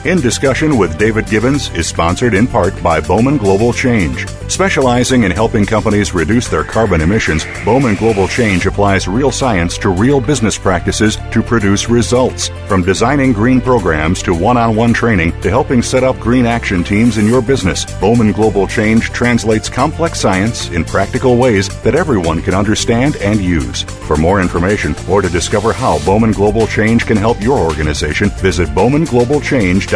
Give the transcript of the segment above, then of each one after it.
In Discussion with David Gibbons is sponsored in part by Bowman Global Change. Specializing in helping companies reduce their carbon emissions, Bowman Global Change applies real science to real business practices to produce results. From designing green programs to one-on-one training to helping set up green action teams in your business, Bowman Global Change translates complex science in practical ways that everyone can understand and use. For more information or to discover how Bowman Global Change can help your organization, visit bowmanglobalchange.com.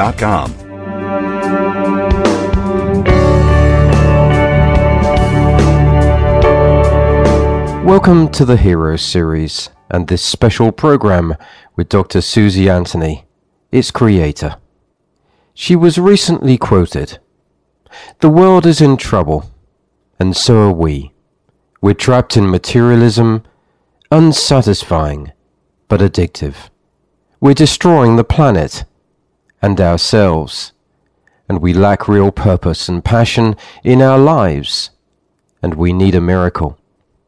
Welcome to the Heroes series and this special program with Dr. Susie Anthony, its creator. She was recently quoted, "The world is in trouble, and so are we. We're trapped in materialism, unsatisfying but addictive. We're destroying the planet and ourselves, and we lack real purpose and passion in our lives, and we need a miracle."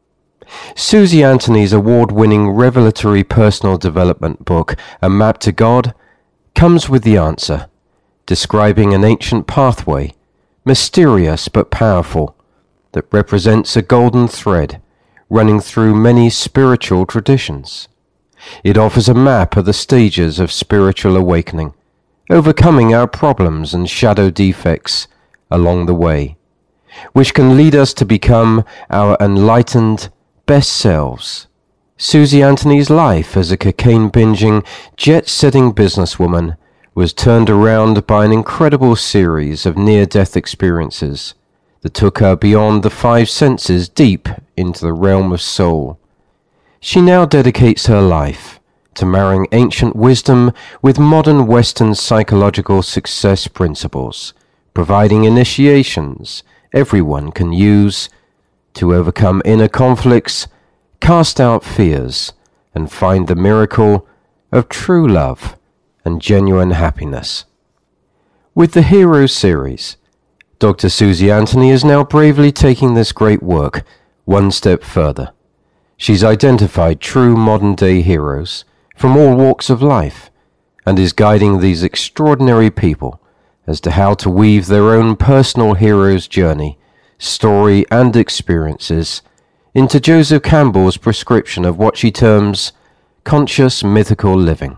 Susie Anthony's award-winning revelatory personal development book, A Map to God, comes with the answer, describing an ancient pathway, mysterious but powerful, that represents a golden thread running through many spiritual traditions. It offers a map of the stages of spiritual awakening, overcoming our problems and shadow defects along the way, which can lead us to become our enlightened best selves. Susie Anthony's life as a cocaine-binging, jet-setting businesswoman was turned around by an incredible series of near-death experiences that took her beyond the five senses deep into the realm of soul. She now dedicates her life to marrying ancient wisdom with modern Western psychological success principles, providing initiations everyone can use to overcome inner conflicts, cast out fears, and find the miracle of true love and genuine happiness. With the Heroes series, Dr. Susie Anthony is now bravely taking this great work one step further. She's identified true modern-day heroes from all walks of life, and is guiding these extraordinary people as to how to weave their own personal hero's journey, story, and experiences into Joseph Campbell's prescription of what she terms conscious mythical living.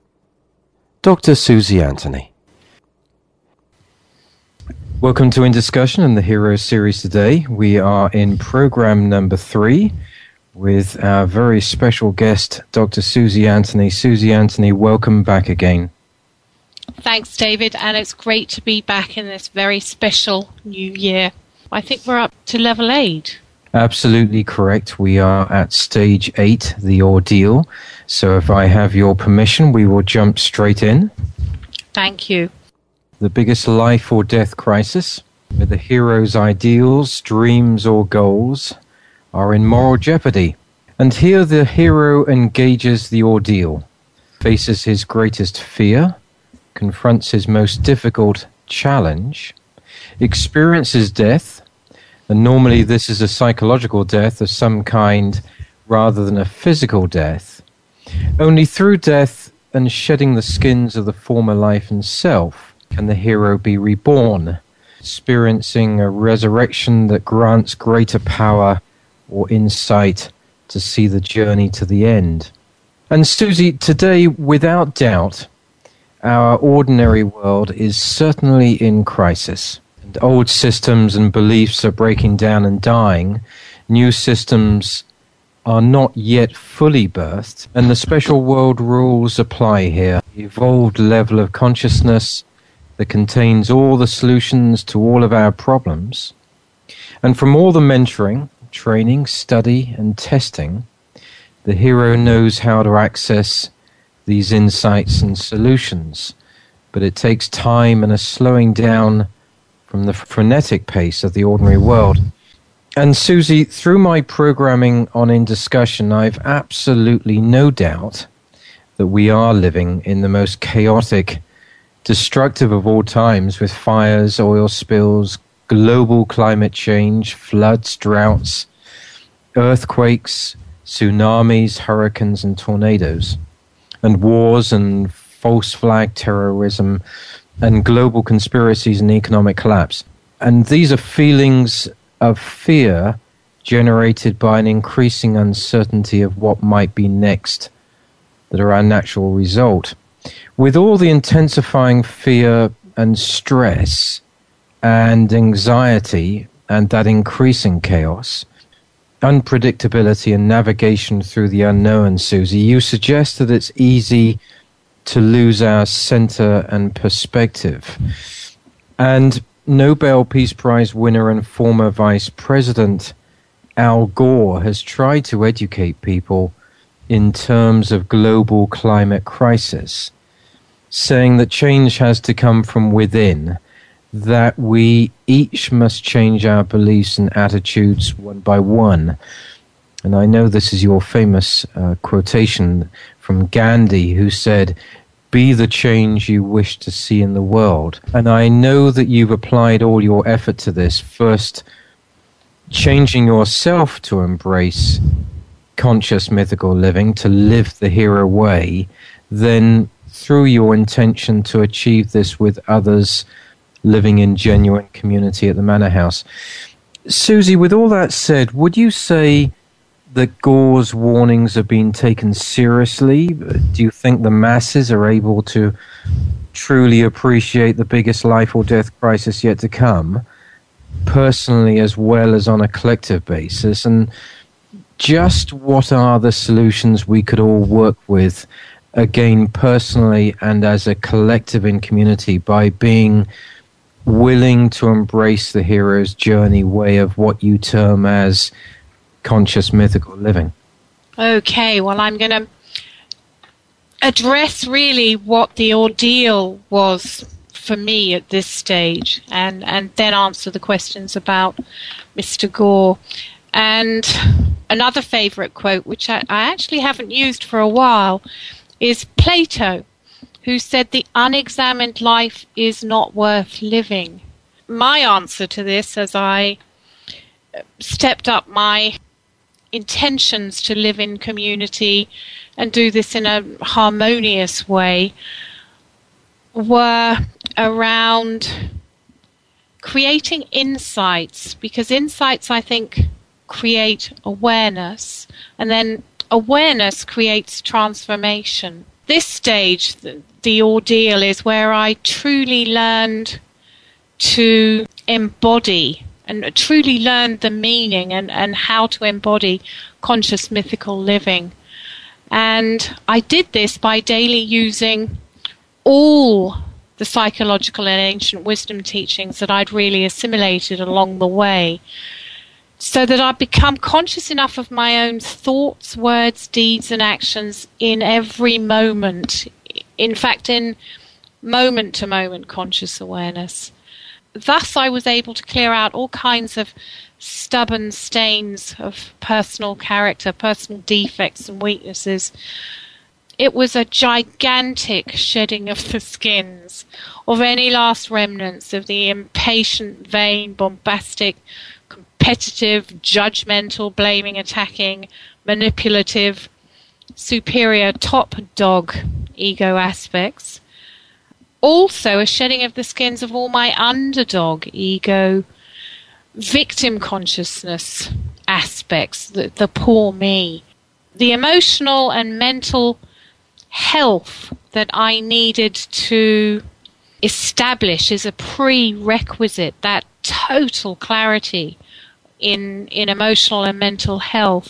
Dr. Susie Anthony. Welcome to In Discussion and the Heroes series today. We are in program number 3. With our very special guest, Dr. Susie Anthony. Susie Anthony, welcome back again. Thanks, David, and it's great to be back in this very special new year. I think we're up to level 8. Absolutely correct. We are at stage 8, the ordeal. So if I have your permission, we will jump straight in. Thank you. The biggest life or death crisis, where the hero's ideals, dreams, or goals are in moral jeopardy. And here the hero engages the ordeal, faces his greatest fear, confronts his most difficult challenge, experiences death, and normally this is a psychological death of some kind rather than a physical death. Only through death and shedding the skins of the former life and self can the hero be reborn, experiencing a resurrection that grants greater power or insight to see the journey to the end. And Susie, today, without doubt, our ordinary world is certainly in crisis. And old systems and beliefs are breaking down and dying. New systems are not yet fully birthed, and the special world rules apply here. The evolved level of consciousness that contains all the solutions to all of our problems. And from all the mentoring, training, study, and testing, the hero knows how to access these insights and solutions, but it takes time and a slowing down from the frenetic pace of the ordinary world. And Susie, through my programming on In Discussion, I've absolutely no doubt that we are living in the most chaotic, destructive of all times, with fires, oil spills, global climate change, floods, droughts, earthquakes, tsunamis, hurricanes, and tornadoes, and wars and false flag terrorism, and global conspiracies and economic collapse. And these are feelings of fear generated by an increasing uncertainty of what might be next that are our natural result. With all the intensifying fear and stress and anxiety and that increasing chaos, unpredictability and navigation through the unknown, Susie, you suggest that it's easy to lose our center and perspective. And Nobel Peace Prize winner and former Vice President Al Gore has tried to educate people in terms of global climate crisis, saying that change has to come from within, that we each must change our beliefs and attitudes one by one. And I know this is your famous quotation from Gandhi, who said, "Be the change you wish to see in the world." And I know that you've applied all your effort to this, first changing yourself to embrace conscious mythical living, to live the hero way, then through your intention to achieve this with others living in genuine community at the Manor House. Susie, with all that said, would you say that Gore's warnings have been taken seriously? Do you think the masses are able to truly appreciate the biggest life or death crisis yet to come, personally as well as on a collective basis? And just what are the solutions we could all work with, again, personally and as a collective in community, by being willing to embrace the hero's journey way of what you term as conscious mythical living? Okay, well, I'm going to address really what the ordeal was for me at this stage, and then answer the questions about Mr. Gore. And another favourite quote, which I actually haven't used for a while, is Plato, who said the unexamined life is not worth living. My answer to this, as I stepped up my intentions to live in community and do this in a harmonious way, were around creating insights, because insights, I think, create awareness, and then awareness creates transformation. This stage, the ordeal, is where I truly learned to embody and truly learned the meaning and how to embody conscious mythical living. And I did this by daily using all the psychological and ancient wisdom teachings that I'd really assimilated along the way, so that I'd become conscious enough of my own thoughts, words, deeds, and actions in every moment. In fact, in moment-to-moment conscious awareness. Thus, I was able to clear out all kinds of stubborn stains of personal character, personal defects and weaknesses. It was a gigantic shedding of the skins of any last remnants of the impatient, vain, bombastic, competitive, judgmental, blaming, attacking, manipulative, superior, top dog ego aspects. Also a shedding of the skins of all my underdog ego, victim consciousness aspects, the poor me. The emotional and mental health that I needed to establish is a prerequisite, that total clarity in emotional and mental health.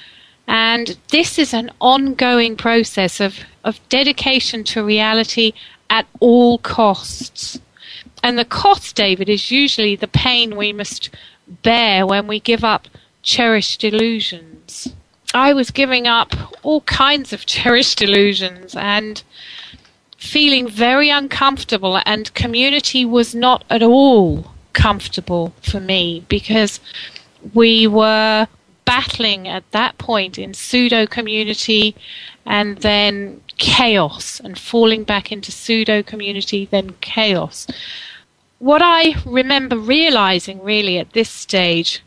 And this is an ongoing process of dedication to reality at all costs. And the cost, David, is usually the pain we must bear when we give up cherished illusions. I was giving up all kinds of cherished illusions and feeling very uncomfortable, and community was not at all comfortable for me, because we were battling at that point in pseudo-community and then chaos, and falling back into pseudo-community, then chaos. What I remember realizing really at this stage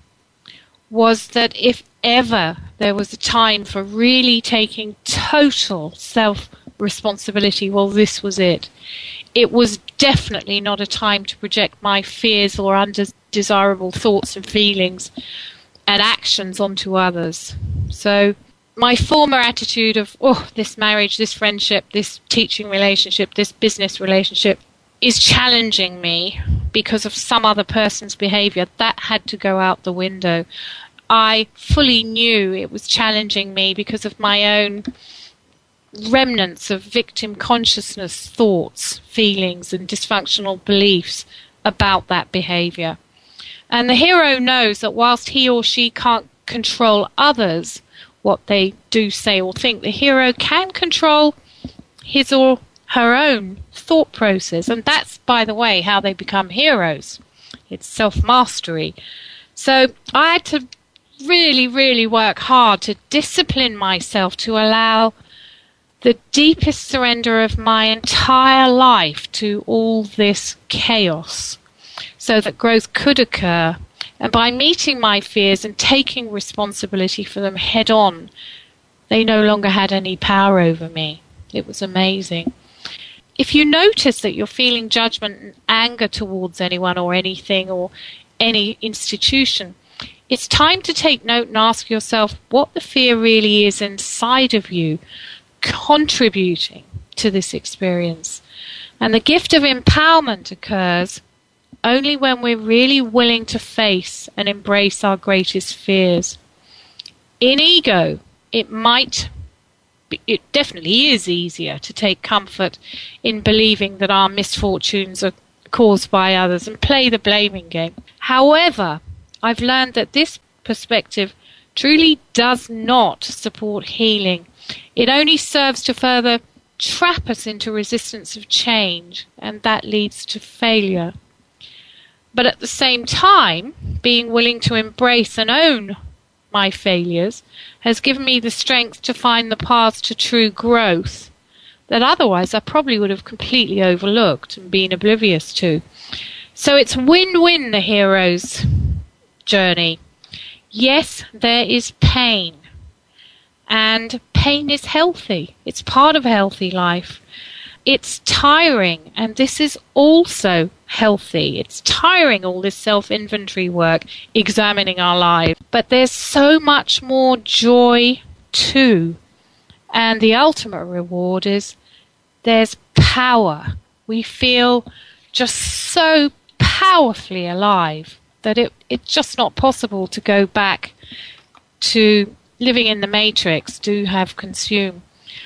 was that if ever there was a time for really taking total self-responsibility, well, this was it. it was definitely not a time to project my fears or undesirable thoughts and feelings and actions onto others. So my former attitude of, this marriage, this friendship, this teaching relationship, this business relationship is challenging me because of some other person's behavior, that had to go out the window. I fully knew it was challenging me because of my own remnants of victim consciousness, thoughts, feelings, and dysfunctional beliefs about that behavior. And the hero knows that whilst he or she can't control others, what they do, say, or think, the hero can control his or her own thought process. And that's, by the way, how they become heroes. It's self-mastery. So I had to really, really work hard to discipline myself to allow the deepest surrender of my entire life to all this chaos so that growth could occur. And by meeting my fears and taking responsibility for them head on, they no longer had any power over me. It was amazing. If you notice that you're feeling judgment and anger towards anyone or anything or any institution, it's time to take note and ask yourself what the fear really is inside of you contributing to this experience. And the gift of empowerment occurs only when we're really willing to face and embrace our greatest fears. In ego, it definitely is easier to take comfort in believing that our misfortunes are caused by others and play the blaming game. However, I've learned that this perspective truly does not support healing. It only serves to further trap us into resistance of change, and that leads to failure. But at the same time, being willing to embrace and own my failures has given me the strength to find the paths to true growth that otherwise I probably would have completely overlooked and been oblivious to. So it's win-win, the hero's journey. Yes, there is pain. And pain is healthy. It's part of a healthy life. It's tiring, and this is also healthy. It's tiring, all this self-inventory work, examining our lives. But there's so much more joy too. And the ultimate reward is there's power. We feel just so powerfully alive that it's just not possible to go back to living in the matrix, do have consume.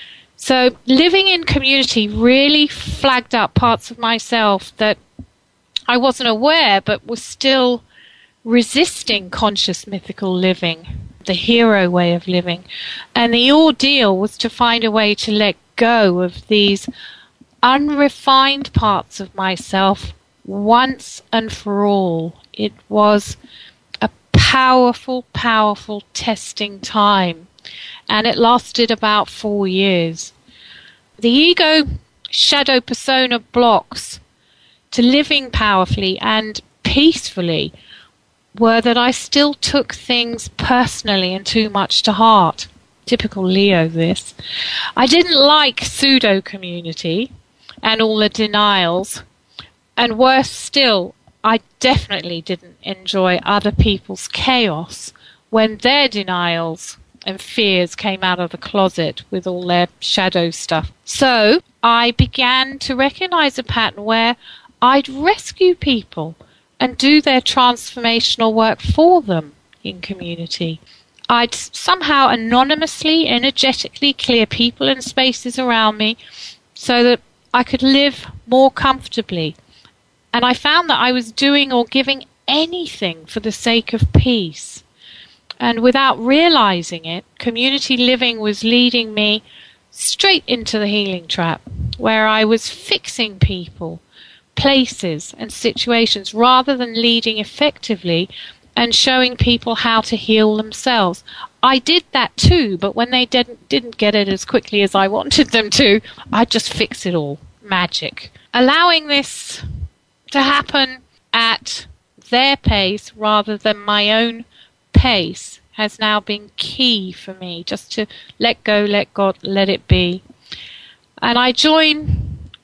So living in community really flagged up parts of myself that I wasn't aware but was still resisting conscious mythical living, the hero way of living. And the ordeal was to find a way to let go of these unrefined parts of myself once and for all. It was a powerful, powerful testing time. And it lasted about 4 years. The ego shadow persona blocks to living powerfully and peacefully were that I still took things personally and too much to heart. Typical Leo, this. I didn't like pseudo-community and all the denials. And worse still, I definitely didn't enjoy other people's chaos when their denials and fears came out of the closet with all their shadow stuff. So I began to recognize a pattern where I'd rescue people and do their transformational work for them in community. I'd somehow anonymously, energetically clear people and spaces around me so that I could live more comfortably. And I found that I was doing or giving anything for the sake of peace. And without realizing it, community living was leading me straight into the healing trap, where I was fixing people, places, and situations rather than leading effectively and showing people how to heal themselves. I did that too, but when they didn't get it as quickly as I wanted them to, I'd just fix it all. Magic. Allowing this to happen at their pace rather than my own pace has now been key for me, just to let go, let God, let it be. And I join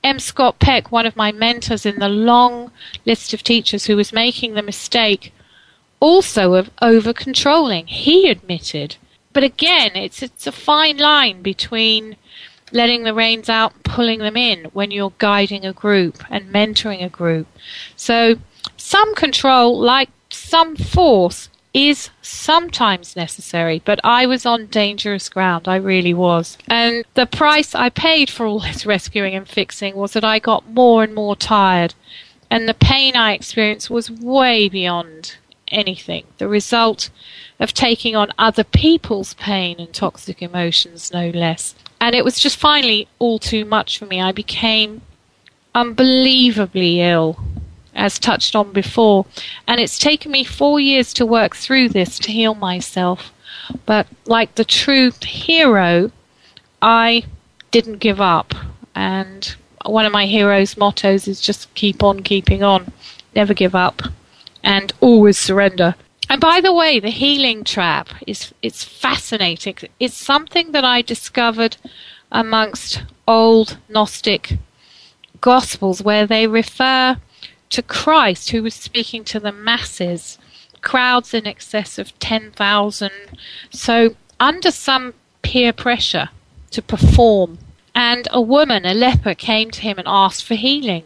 M. Scott Peck, one of my mentors in the long list of teachers who was making the mistake also of over-controlling, he admitted. But again, it's a fine line between letting the reins out and pulling them in when you're guiding a group and mentoring a group. So some control, like some force, is sometimes necessary, but I was on dangerous ground. I really was. And the price I paid for all this rescuing and fixing was that I got more and more tired, and the pain I experienced was way beyond anything. The result of taking on other people's pain and toxic emotions, no less. And it was just finally all too much for me. I became unbelievably ill, as touched on before. And it's taken me 4 years to work through this, to heal myself. But like the true hero, I didn't give up. And one of my hero's mottos is just keep on keeping on. Never give up. And always surrender. And by the way, the healing trap it's fascinating. It's something that I discovered amongst old Gnostic Gospels, where they refer to Christ, who was speaking to the masses, crowds in excess of 10,000. So under some peer pressure to perform. And a woman, a leper, came to him and asked for healing.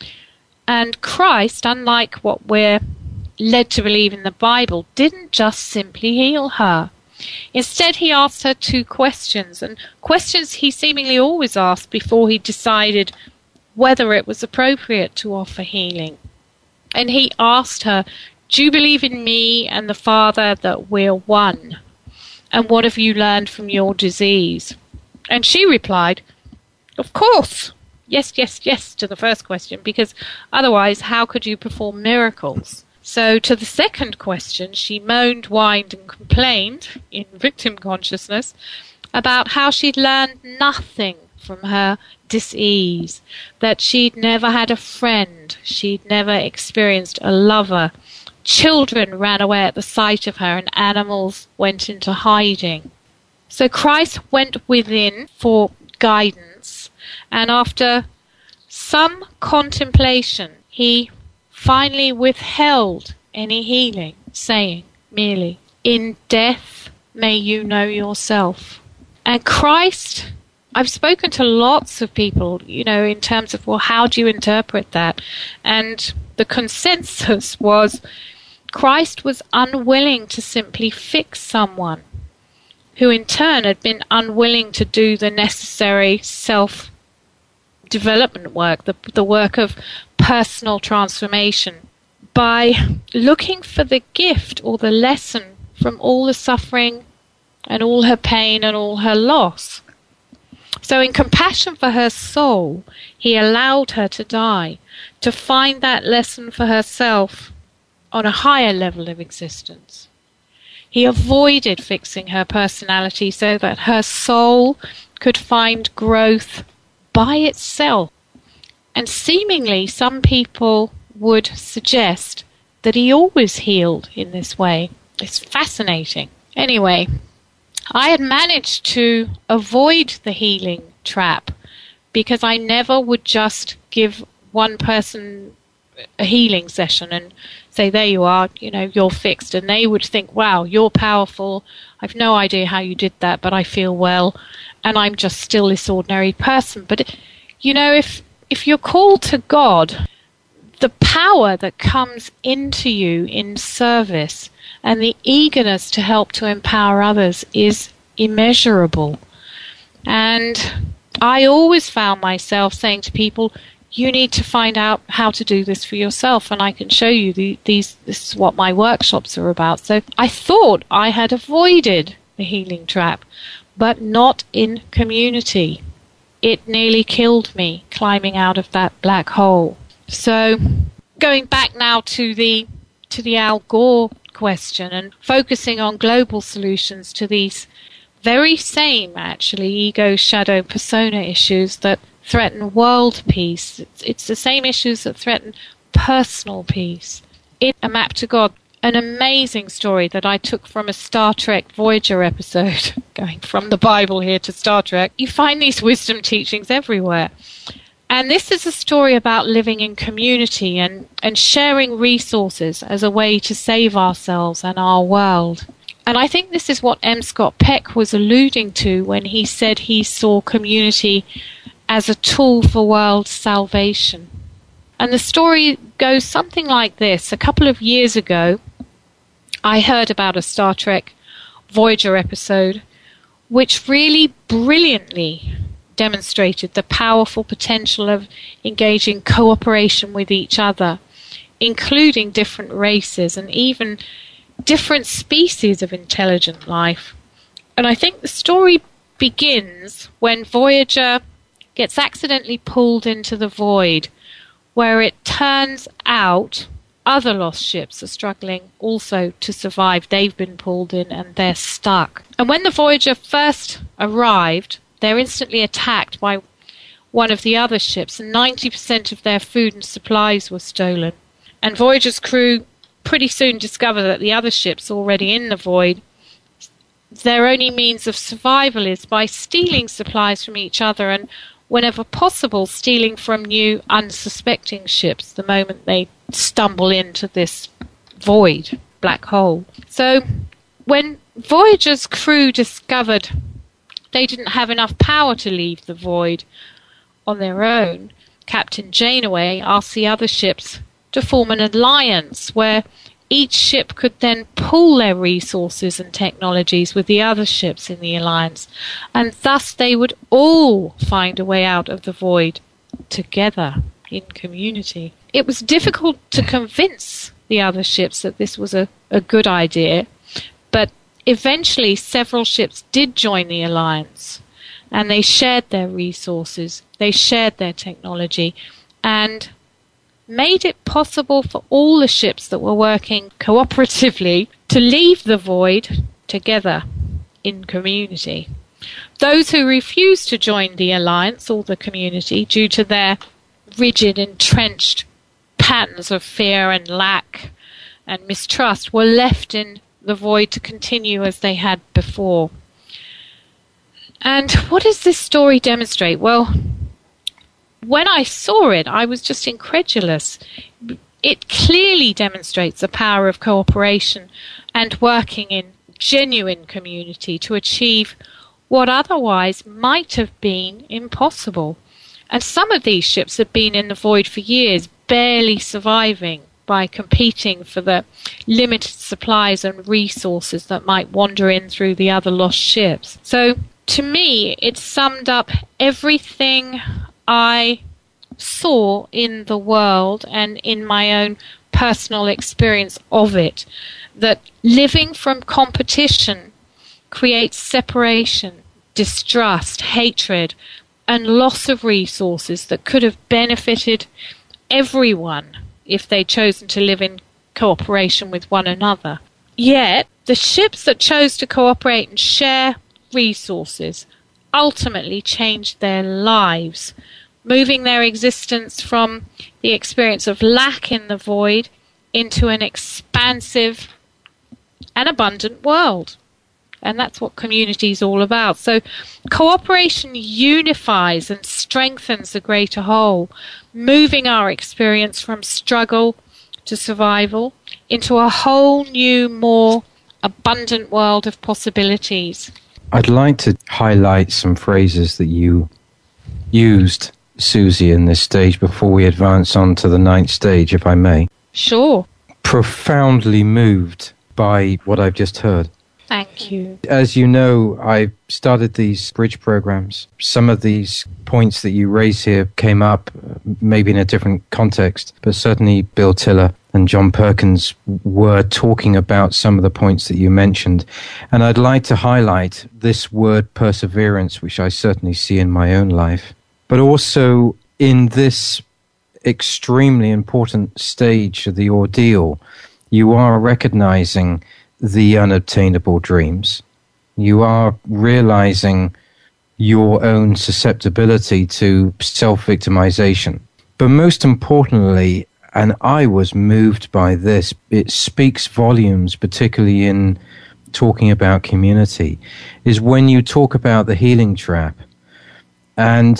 And Christ, unlike what we're led to believe in the Bible, didn't just simply heal her. Instead, he asked her 2 questions, and questions he seemingly always asked before he decided whether it was appropriate to offer healing. And he asked her, "Do you believe in me and the Father that we're one? And what have you learned from your disease?" And she replied, "Of course. Yes, yes, yes," to the first question, because otherwise how could you perform miracles? So to the second question, she moaned, whined, and complained in victim consciousness about how she'd learned nothing from her dis-ease, that she'd never had a friend, she'd never experienced a lover. Children ran away at the sight of her, and animals went into hiding. So Christ went within for guidance, and after some contemplation, he finally withheld any healing, saying merely, "In death may you know yourself." And Christ, I've spoken to lots of people, in terms of, well, how do you interpret that? And the consensus was Christ was unwilling to simply fix someone who in turn had been unwilling to do the necessary self-development work, the work of personal transformation, by looking for the gift or the lesson from all the suffering and all her pain and all her loss. So in compassion for her soul, he allowed her to die, to find that lesson for herself on a higher level of existence. He avoided fixing her personality so that her soul could find growth by itself. And seemingly some people would suggest that he always healed in this way. It's fascinating. Anyway, I had managed to avoid the healing trap because I never would just give one person a healing session and say, there you are, you're fixed. And they would think, wow, you're powerful. I've no idea how you did that, but I feel well. And I'm just still this ordinary person. But, if you're called to God, the power that comes into you in service and the eagerness to help to empower others is immeasurable. And I always found myself saying to people, you need to find out how to do this for yourself, and I can show you this is what my workshops are about. So I thought I had avoided the healing trap, but not in community. It nearly killed me climbing out of that black hole. So going back now to the Al Gore question and focusing on global solutions to these very same, actually, ego, shadow, persona issues that threaten world peace. It's the same issues that threaten personal peace. In A Map to God, an amazing story that I took from a Star Trek Voyager episode, going from the Bible here to Star Trek. You find these wisdom teachings everywhere. And this is a story about living in community and sharing resources as a way to save ourselves and our world. And I think this is what M. Scott Peck was alluding to when he said he saw community as a tool for world salvation. And the story goes something like this. A couple of years ago, I heard about a Star Trek Voyager episode which really brilliantly demonstrated the powerful potential of engaging cooperation with each other, including different races and even different species of intelligent life. And I think the story begins when Voyager gets accidentally pulled into the void, where it turns out other lost ships are struggling also to survive. They've been pulled in and they're stuck. And when the Voyager first arrived, they're instantly attacked by one of the other ships, and 90% of their food and supplies were stolen. And Voyager's crew pretty soon discover that the other ships already in the void, their only means of survival is by stealing supplies from each other and, whenever possible, stealing from new unsuspecting ships the moment they stumble into this void, black hole. So when Voyager's crew discovered they didn't have enough power to leave the void on their own, Captain Janeway asked the other ships to form an alliance where each ship could then pool their resources and technologies with the other ships in the alliance, and thus they would all find a way out of the void together in community. It was difficult to convince the other ships that this was a good idea, but eventually several ships did join the alliance, and they shared their resources, they shared their technology, and made it possible for all the ships that were working cooperatively to leave the void together in community. Those who refused to join the alliance or the community due to their rigid, entrenched patterns of fear and lack and mistrust were left in the void to continue as they had before. And what does this story demonstrate? Well, when I saw it, I was just incredulous. It clearly demonstrates the power of cooperation and working in genuine community to achieve what otherwise might have been impossible. And some of these ships had been in the void for years, barely surviving by competing for the limited supplies and resources that might wander in through the other lost ships. So, to me, it summed up everything I saw in the world and in my own personal experience of it, that living from competition creates separation, distrust, hatred, and loss of resources that could have benefited everyone if they'd chosen to live in cooperation with one another. Yet, the ships that chose to cooperate and share resources ultimately changed their lives, moving their existence from the experience of lack in the void into an expansive and abundant world. And that's what community is all about. So cooperation unifies and strengthens the greater whole, moving our experience from struggle to survival into a whole new, more abundant world of possibilities. I'd like to highlight some phrases that you used, Susie, in this stage before we advance on to the 9th stage, if I may. Sure. Profoundly moved by what I've just heard. Thank you. As you know, I started these bridge programs. Some of these points that you raise here came up maybe in a different context, but certainly Bill Tiller and John Perkins were talking about some of the points that you mentioned. And I'd like to highlight this word perseverance, which I certainly see in my own life, but also in this extremely important stage of the ordeal, you are recognizing the unobtainable dreams. You are realizing your own susceptibility to self-victimization. But most importantly, and I was moved by this, it speaks volumes, particularly in talking about community, is when you talk about the healing trap. And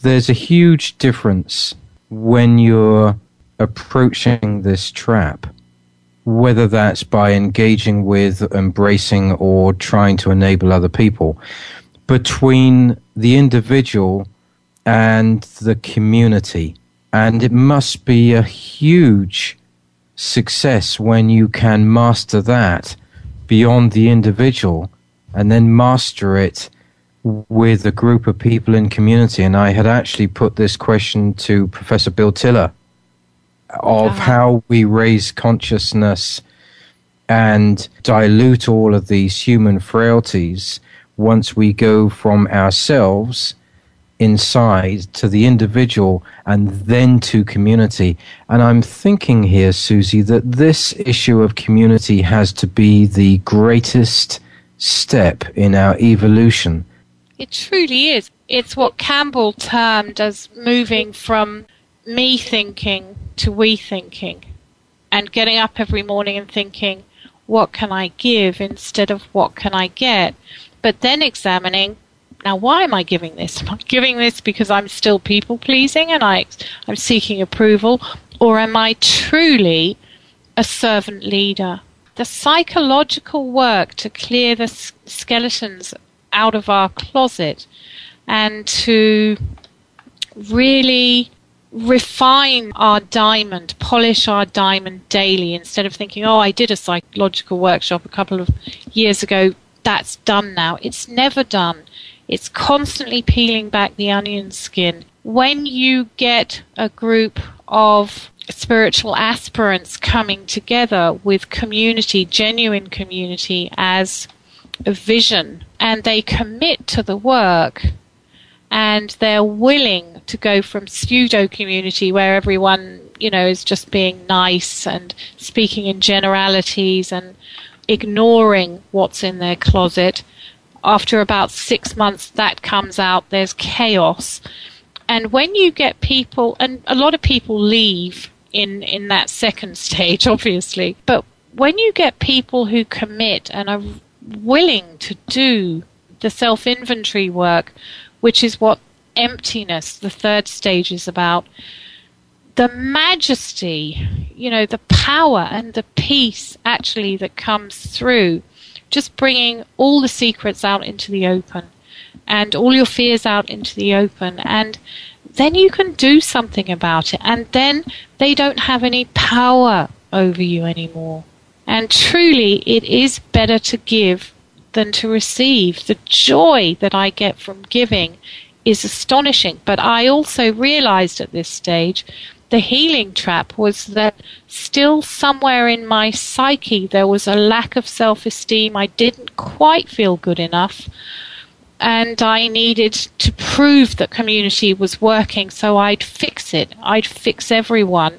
there's a huge difference when you're approaching this trap, whether that's by engaging with, embracing, or trying to enable other people, between the individual and the community. And it must be a huge success when you can master that beyond the individual and then master it with a group of people in community. And I had actually put this question to Professor Bill Tiller of how we raise consciousness and dilute all of these human frailties once we go from ourselves inside to the individual and then to community. And I'm thinking here, Susie, that this issue of community has to be the greatest step in our evolution. It truly is. It's what Campbell termed as moving from me thinking to we thinking, and getting up every morning and thinking, what can I give instead of what can I get? But then examining, now why am I giving this? Am I giving this because I'm still people-pleasing and I'm seeking approval, or am I truly a servant leader? The psychological work to clear the skeletons out of our closet and to really refine our diamond, polish our diamond daily, instead of thinking, oh, I did a psychological workshop a couple of years ago, that's done now. It's never done. It's constantly peeling back the onion skin. When you get a group of spiritual aspirants coming together with community, genuine community as a vision, and they commit to the work, and they're willing to go from pseudo-community where everyone, is just being nice and speaking in generalities and ignoring what's in their closet. After about 6 months, that comes out. There's chaos. And when you get people, and a lot of people leave in that second stage, obviously, but when you get people who commit and are willing to do the self-inventory work, which is what emptiness, the third stage, is about, the majesty, the power and the peace actually that comes through just bringing all the secrets out into the open and all your fears out into the open, and then you can do something about it, and then they don't have any power over you anymore. And truly, it is better to give than to receive. The joy that I get from giving is astonishing. But I also realized at this stage the healing trap was that still somewhere in my psyche there was a lack of self-esteem. I didn't quite feel good enough, and I needed to prove that community was working, so I'd fix it. I'd fix everyone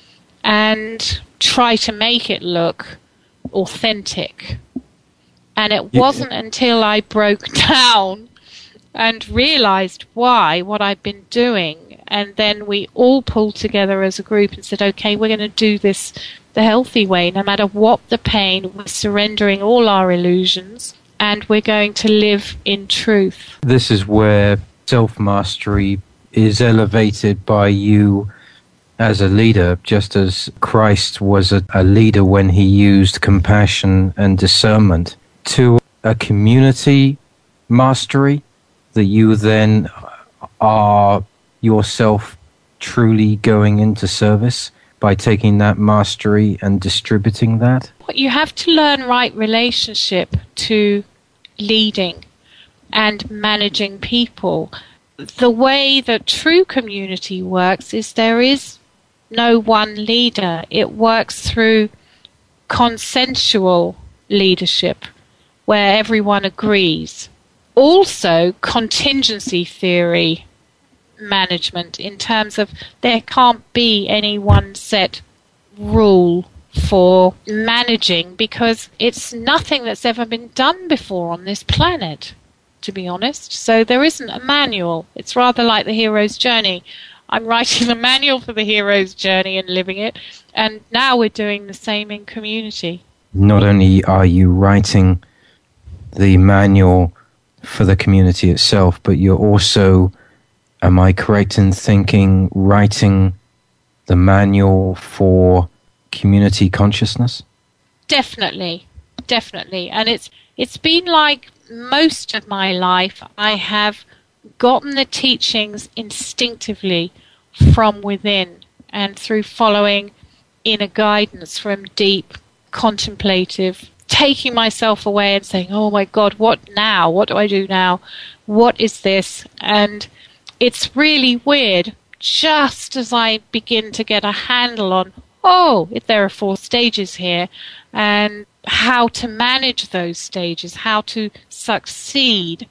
and try to make it look authentic. And it wasn't until I broke down and realized what I'd been doing, and then we all pulled together as a group and said, okay, we're going to do this the healthy way. No matter what the pain, we're surrendering all our illusions, and we're going to live in truth. This is where self-mastery is elevated by you as a leader, just as Christ was a leader when he used compassion and discernment, to a community mastery that you then are yourself truly going into service by taking that mastery and distributing that? You have to learn right relationship to leading and managing people. The way that true community works is there is no one leader. It works through consensual leadership where everyone agrees. Also, contingency theory management, in terms of there can't be any one set rule for managing, because it's nothing that's ever been done before on this planet, to be honest. So there isn't a manual. It's rather like the hero's journey. I'm writing the manual for the hero's journey and living it, and now we're doing the same in community. Not only are you writing the manual for the community itself, but you're also am I correct in thinking, writing the manual for community consciousness? Definitely. And it's been like most of my life. I have gotten the teachings instinctively from within and through following inner guidance from deep contemplative, taking myself away and saying, oh my God, what now? What do I do now? What is this? And it's really weird. Just as I begin to get a handle on, there are 4 stages here, and how to manage those stages, how to succeed,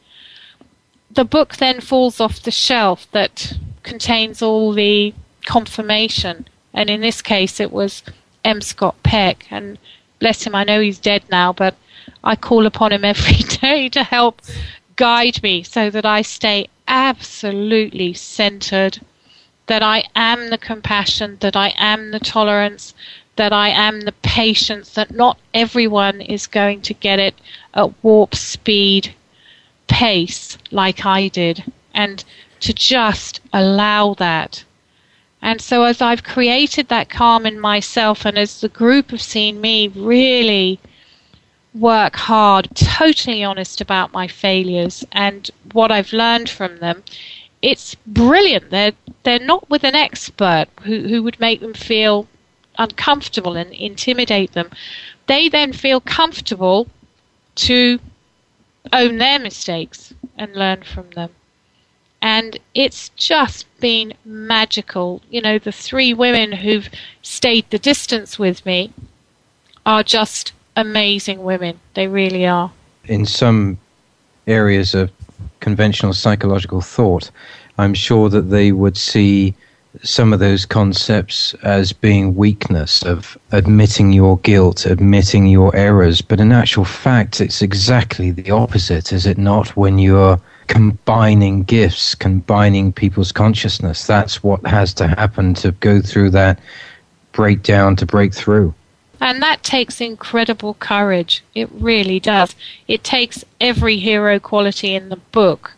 the book then falls off the shelf that contains all the confirmation. And in this case, it was M. Scott Peck. And bless him, I know he's dead now, but I call upon him every day to help guide me so that I stay absolutely centered, that I am the compassion, that I am the tolerance, that I am the patience, that not everyone is going to get it at warp speed pace like I did, and to just allow that. And so as I've created that calm in myself, and as the group have seen me really work hard, totally honest about my failures and what I've learned from them, it's brilliant. They're not with an expert who would make them feel uncomfortable and intimidate them. They then feel comfortable to own their mistakes and learn from them. And it's just been magical. You know, the 3 women who've stayed the distance with me are just amazing women. They really are. In some areas of conventional psychological thought, I'm sure that they would see some of those concepts as being weakness, of admitting your guilt, admitting your errors. But in actual fact, it's exactly the opposite, is it not? When you're combining gifts, combining people's consciousness, that's what has to happen to go through that breakdown, to break through. And that takes incredible courage. It really does. It takes every hero quality in the book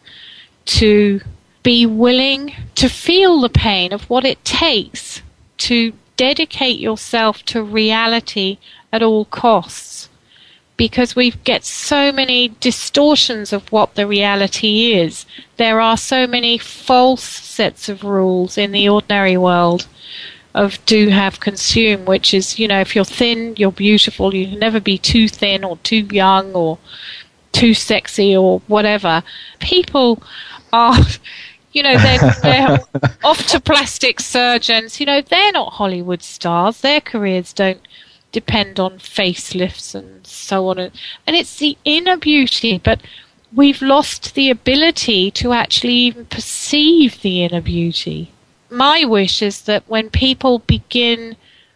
to be willing to feel the pain of what it takes to dedicate yourself to reality at all costs. Because we get so many distortions of what the reality is. There are so many false sets of rules in the ordinary world of do, have, consume, which is, you know, if you're thin, you're beautiful. You can never be too thin or too young or too sexy or whatever. People are, you know, they're off to plastic surgeons. You know, they're not Hollywood stars. Their careers don't depend on facelifts and so on. And it's the inner beauty, but we've lost the ability to actually even perceive the inner beauty. My wish is that when people begin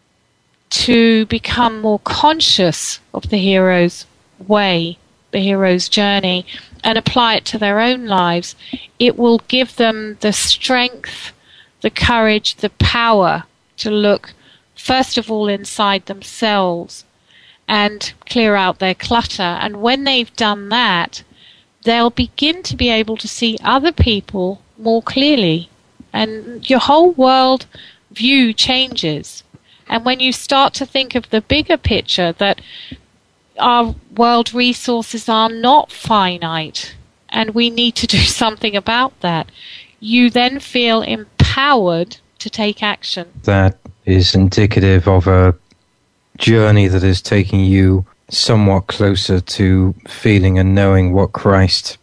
to become more conscious of the hero's way, the hero's journey, and apply it to their own lives, it will give them the strength, the courage, the power to look first of all inside themselves and clear out their clutter. And when they've done that, they'll begin to be able to see other people more clearly. And your whole world view changes. And when you start to think of the bigger picture, that our world resources are not finite and we need to do something about that, you then feel empowered to take action. That is indicative of a journey that is taking you somewhat closer to feeling and knowing what Christ's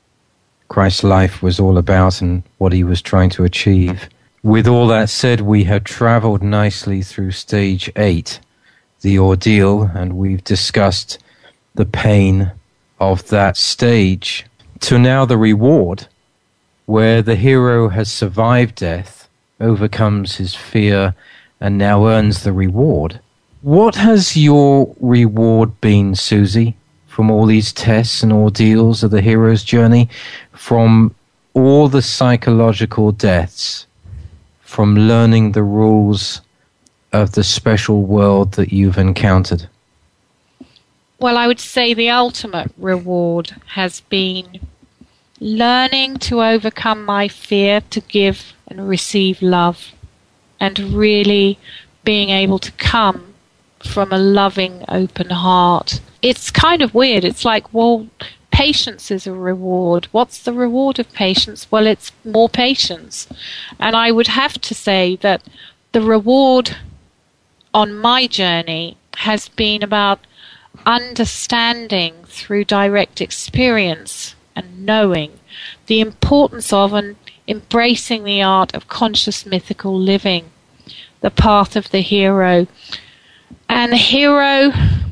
life was all about and what he was trying to achieve. With all that said, we have traveled nicely through stage 8, the ordeal, and we've discussed the pain of that stage, to now the reward, where the hero has survived death, overcomes his fear, and now earns the reward. What has your reward been, Susie, from all these tests and ordeals of the hero's journey, from all the psychological deaths, from learning the rules of the special world that you've encountered? Well, I would say the ultimate reward has been learning to overcome my fear to give and receive love, and really being able to come from a loving, open heart. It's kind of weird. It's like, well, patience is a reward. What's the reward of patience? Well, it's more patience. And I would have to say that the reward on my journey has been about understanding through direct experience and knowing the importance of and embracing the art of conscious mythical living, the path of the hero. And the hero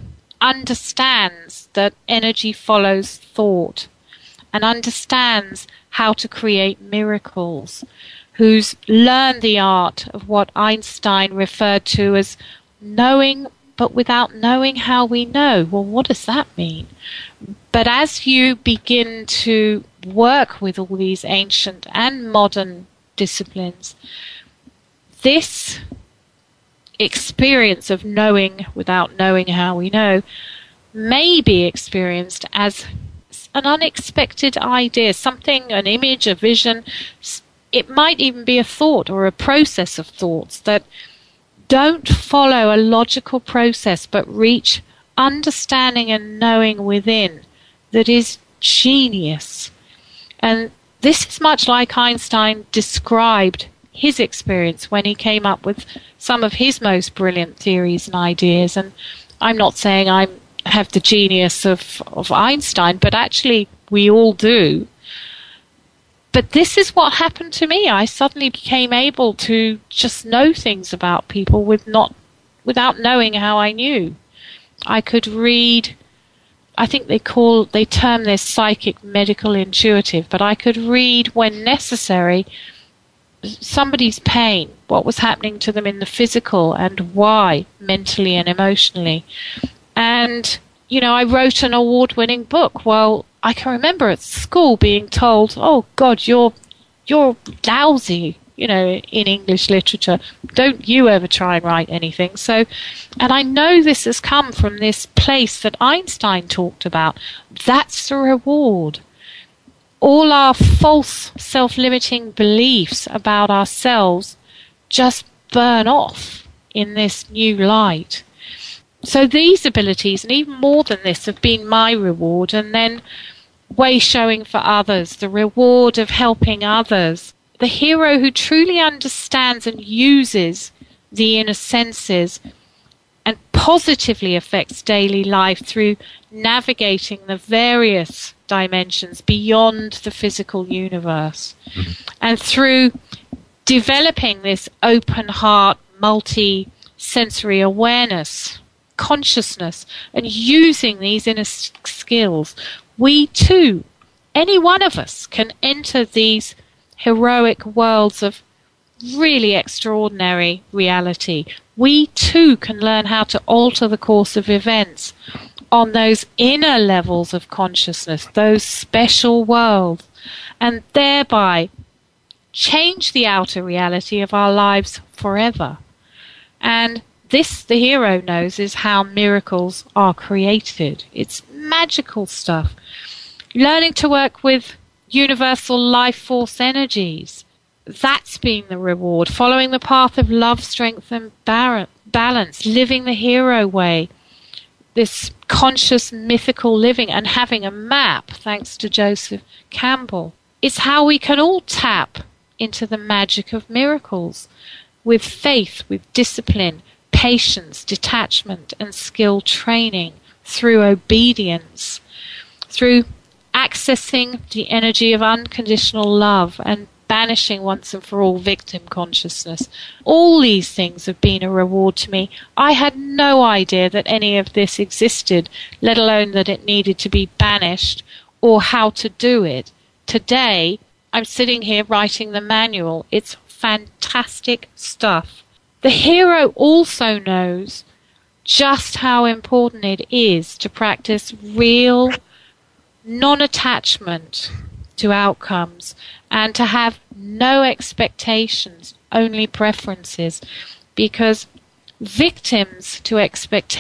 understands that energy follows thought and understands how to create miracles, who's learned the art of what Einstein referred to as knowing but without knowing how we know. Well, what does that mean? But as you begin to work with all these ancient and modern disciplines, this experience of knowing without knowing how we know may be experienced as an unexpected idea, something, an image, a vision. It might even be a thought or a process of thoughts that don't follow a logical process but reach understanding and knowing within that is genius. And this is much like Einstein described his experience when he came up with some of his most brilliant theories and ideas. And I'm not saying I have the genius of Einstein, but actually we all do. But this is what happened to me. I suddenly became able to just know things about people without knowing how I knew. I could read, I think they term this psychic medical intuitive, but I could read when necessary somebody's pain, what was happening to them in the physical and why, mentally and emotionally. And, I wrote an award-winning book. Well, I can remember at school being told, oh, God, you're lousy, in English literature. Don't you ever try and write anything. So, and I know this has come from this place that Einstein talked about. That's the reward. All our false self-limiting beliefs about ourselves just burn off in this new light. So these abilities, and even more than this, have been my reward. And then way showing for others, the reward of helping others. The hero who truly understands and uses the inner senses and positively affects daily life through navigating the various dimensions beyond the physical universe. And through developing this open heart, multi-sensory awareness, consciousness, and using these inner skills, we too, any one of us, can enter these heroic worlds of really extraordinary reality. We too can learn how to alter the course of events on those inner levels of consciousness, those special worlds, and thereby change the outer reality of our lives forever. And this, the hero knows, is how miracles are created. It's magical stuff. Learning to work with universal life force energies. That's been the reward. Following the path of love, strength, and balance. Living the hero way. This conscious, mythical living, and having a map, thanks to Joseph Campbell. It's how we can all tap into the magic of miracles with faith, with discipline, patience, detachment, and skill training, through obedience, through accessing the energy of unconditional love and banishing once and for all victim consciousness. All these things have been a reward to me. I had no idea that any of this existed, let alone that it needed to be banished or how to do it. Today, I'm sitting here writing the manual. It's fantastic stuff. The hero also knows just how important it is to practice real non-attachment to outcomes and to have no expectations, only preferences, because victims to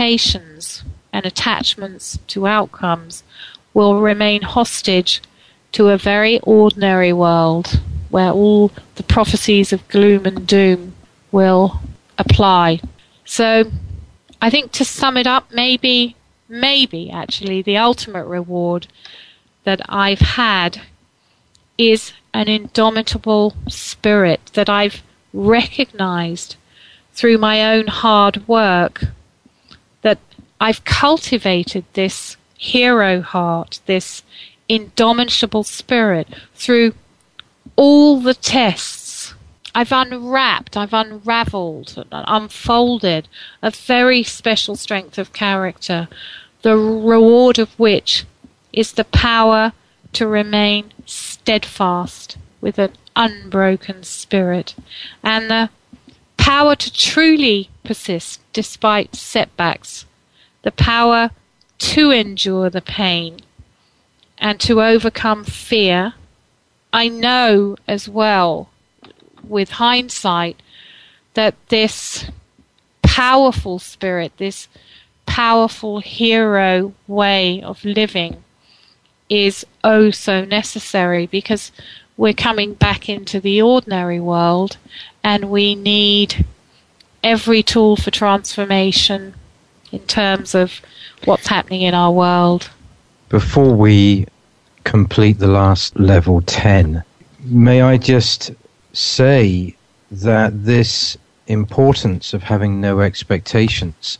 expectations and attachments to outcomes will remain hostage to a very ordinary world where all the prophecies of gloom and doom will apply. So I think, to sum it up, maybe actually the ultimate reward that I've had is an indomitable spirit that I've recognized through my own hard work, that I've cultivated this hero heart, this indomitable spirit through all the tests. I've unwrapped, I've unraveled, and unfolded a very special strength of character, the reward of which is the power to remain steadfast with an unbroken spirit, and the power to truly persist despite setbacks, the power to endure the pain and to overcome fear. I know as well, with hindsight, that this powerful spirit, this powerful hero way of living is oh so necessary, because we're coming back into the ordinary world and we need every tool for transformation in terms of what's happening in our world. Before we complete the last level 10, may I just say that this importance of having no expectations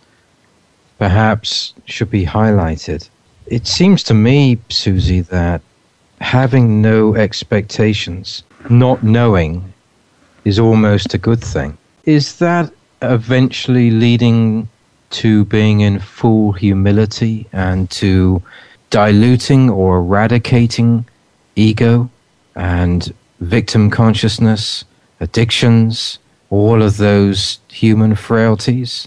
perhaps should be highlighted. It seems to me, Susie, that having no expectations, not knowing, is almost a good thing. Is that eventually leading to being in full humility and to diluting or eradicating ego and victim consciousness, addictions, all of those human frailties?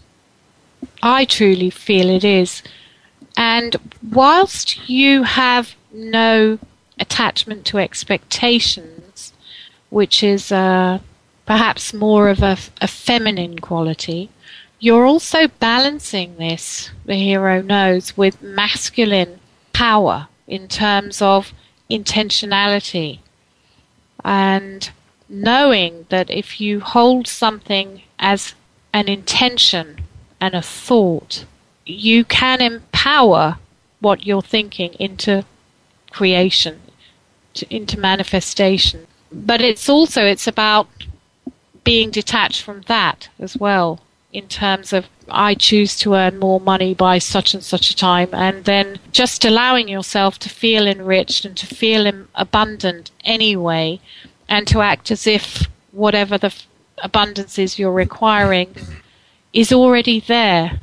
I truly feel it is. And whilst you have no attachment to expectations, which is perhaps more of a feminine quality, you're also balancing this, the hero knows, with masculine power in terms of intentionality, and knowing that if you hold something as an intention and a thought, you can empower what you're thinking into creation, into manifestation. But it's about being detached from that as well, in terms of, I choose to earn more money by such and such a time, and then just allowing yourself to feel enriched and to feel abundant anyway, and to act as if whatever the abundance is you're requiring is already there,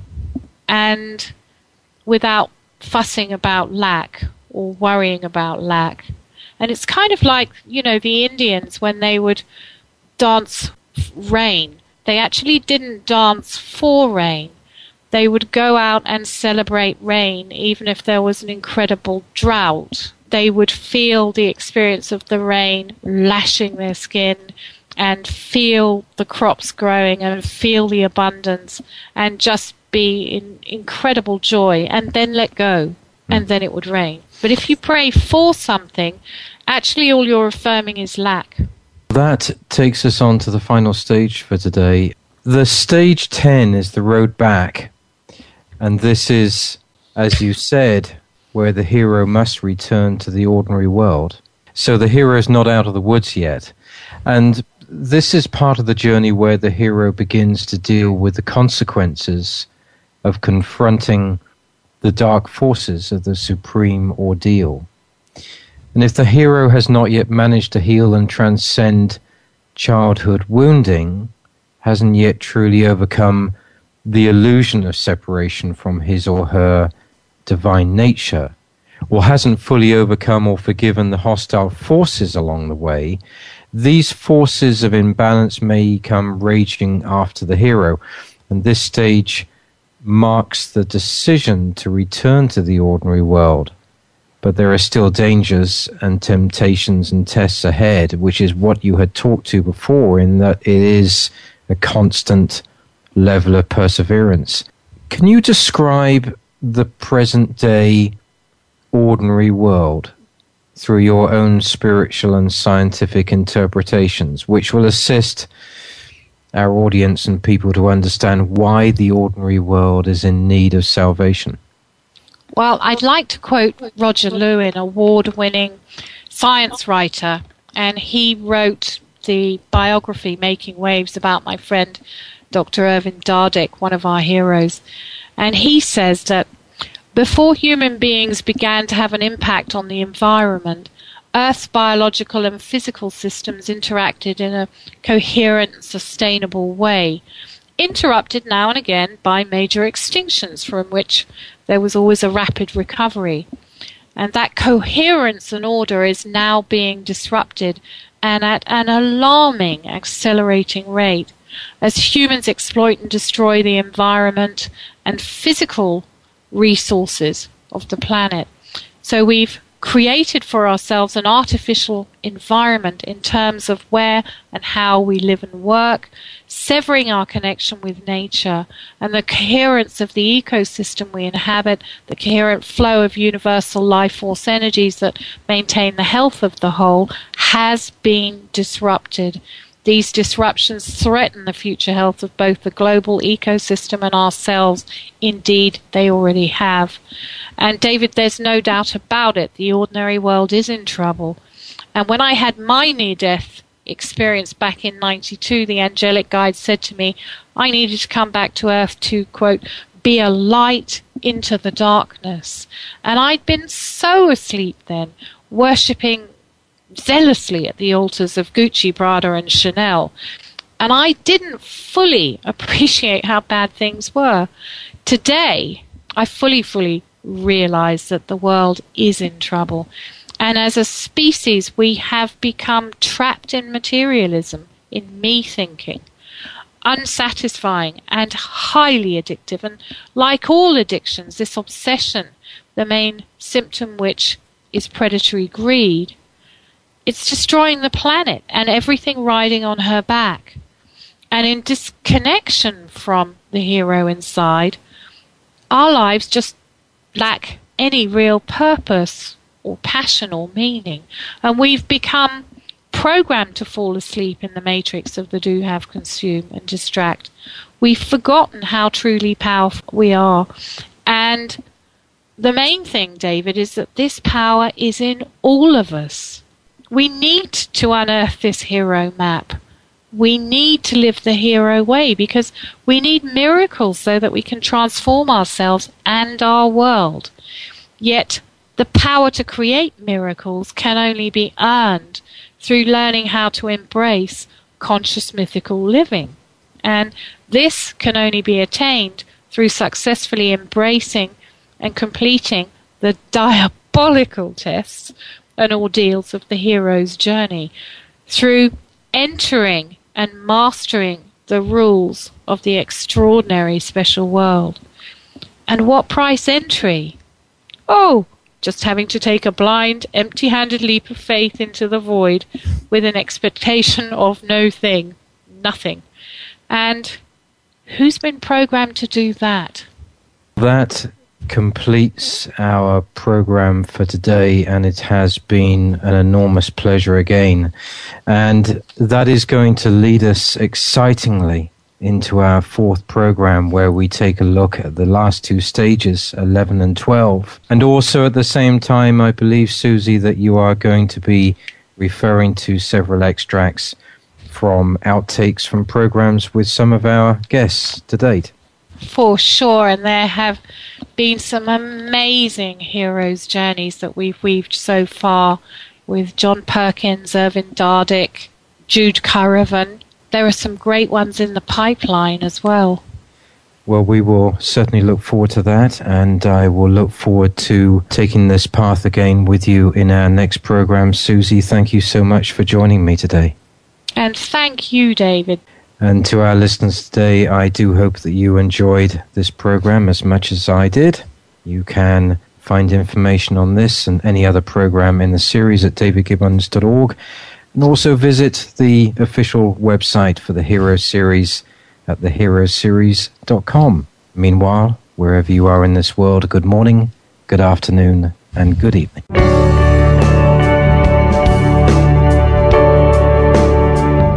and without fussing about lack or worrying about lack. And it's kind of like, the Indians, when they would dance rain, they actually didn't dance for rain. They would go out and celebrate rain even if there was an incredible drought. They would feel the experience of the rain lashing their skin and feel the crops growing and feel the abundance and just be in incredible joy, and then let go, and then it would rain. But if you pray for something, actually all you're affirming is lack. That takes us on to the final stage for today. The stage 10 is the road back, and this is, as you said, where the hero must return to the ordinary world. So the hero is not out of the woods yet, and this is part of the journey where the hero begins to deal with the consequences of confronting the dark forces of the supreme ordeal. And if the hero has not yet managed to heal and transcend childhood wounding, hasn't yet truly overcome the illusion of separation from his or her divine nature, or hasn't fully overcome or forgiven the hostile forces along the way, these forces of imbalance may come raging after the hero, and this stage marks the decision to return to the ordinary world. But there are still dangers and temptations and tests ahead, which is what you had talked to before, in that it is a constant level of perseverance. Can you describe the present day ordinary world through your own spiritual and scientific interpretations, which will assist our audience and people to understand why the ordinary world is in need of salvation. Well, I'd like to quote Roger Lewin, award-winning science writer, and he wrote the biography Making Waves about my friend Dr. Ervin Dardick, one of our heroes. And he says that before human beings began to have an impact on the environment, Earth's biological and physical systems interacted in a coherent and sustainable way, interrupted now and again by major extinctions from which there was always a rapid recovery. And that coherence and order is now being disrupted, and at an alarming, accelerating rate, as humans exploit and destroy the environment and physical resources of the planet. So we've created for ourselves an artificial environment in terms of where and how we live and work, severing our connection with nature and the coherence of the ecosystem we inhabit, the coherent flow of universal life force energies that maintain the health of the whole has been disrupted. These disruptions threaten the future health of both the global ecosystem and ourselves. Indeed, they already have. And David, there's no doubt about it, the ordinary world is in trouble. And when I had my near-death experience back in 92, the angelic guide said to me, I needed to come back to Earth to, quote, be a light into the darkness. And I'd been so asleep then, worshipping zealously at the altars of Gucci, Prada, and Chanel. And I didn't fully appreciate how bad things were. Today, I fully realize that the world is in trouble. And as a species, we have become trapped in materialism, in me thinking, unsatisfying and highly addictive. And like all addictions, this obsession, the main symptom which is predatory greed, it's destroying the planet and everything riding on her back. And in disconnection from the hero inside, our lives just lack any real purpose or passion or meaning. And we've become programmed to fall asleep in the matrix of the do, have, consume, and distract. We've forgotten how truly powerful we are. And the main thing, David, is that this power is in all of us. We need to unearth this hero map. We need to live the hero way because we need miracles so that we can transform ourselves and our world. Yet the power to create miracles can only be earned through learning how to embrace conscious mythical living. And this can only be attained through successfully embracing and completing the diabolical tests and ordeals of the hero's journey, through entering and mastering the rules of the extraordinary special world. And what price entry? Oh, just having to take a blind, empty-handed leap of faith into the void with an expectation of nothing. And who's been programmed to do that? That completes our program for today, and it has been an enormous pleasure again. And that is going to lead us excitingly into our fourth program, where we take a look at the last two stages, 11 and 12. And also at the same time, I believe, Susie, that you are going to be referring to several extracts from outtakes from programs with some of our guests to date. For sure, and there have been some amazing heroes' journeys that we've weaved so far with John Perkins, Ervin Dardick, Jude Currivan. There are some great ones in the pipeline as well. Well, we will certainly look forward to that, and I will look forward to taking this path again with you in our next program. Susie, thank you so much for joining me today. And thank you, David. And to our listeners today, I do hope that you enjoyed this program as much as I did. You can find information on this and any other program in the series at davidgibbons.org, and also visit the official website for the Hero Series at theheroseries.com. Meanwhile, wherever you are in this world, good morning, good afternoon, and good evening.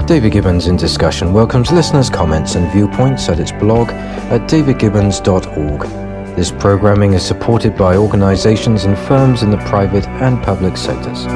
David Gibbons in Discussion welcomes listeners' comments and viewpoints at its blog at davidgibbons.org. This programming is supported by organizations and firms in the private and public sectors.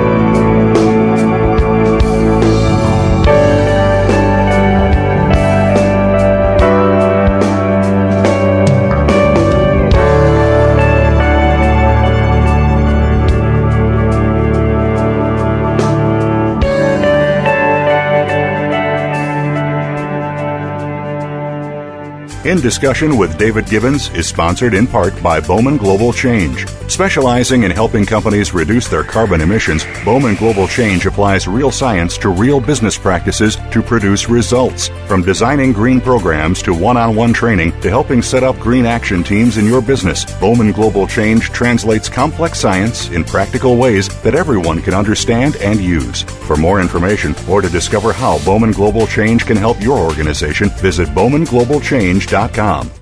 In Discussion with David Gibbons is sponsored in part by Bowman Global Change. Specializing in helping companies reduce their carbon emissions, Bowman Global Change applies real science to real business practices to produce results. From designing green programs to one-on-one training to helping set up green action teams in your business, Bowman Global Change translates complex science in practical ways that everyone can understand and use. For more information or to discover how Bowman Global Change can help your organization, visit bowmanglobalchange.com.